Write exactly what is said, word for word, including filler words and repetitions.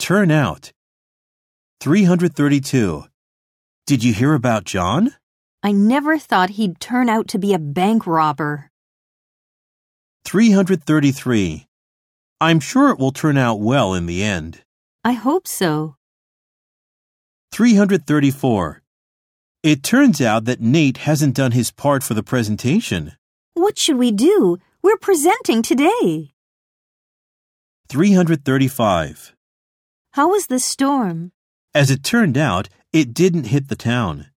turn out. three hundred thirty-two. Did you hear about John? I never thought he'd turn out to be a bank robber. three hundred thirty-three. I'm sure it will turn out well in the end. I hope so. three hundred thirty-four. It turns out that Nate hasn't done his part for the presentation. What should we do? We're presenting today. three hundred thirty-five. How was the storm? As it turned out, it didn't hit the town.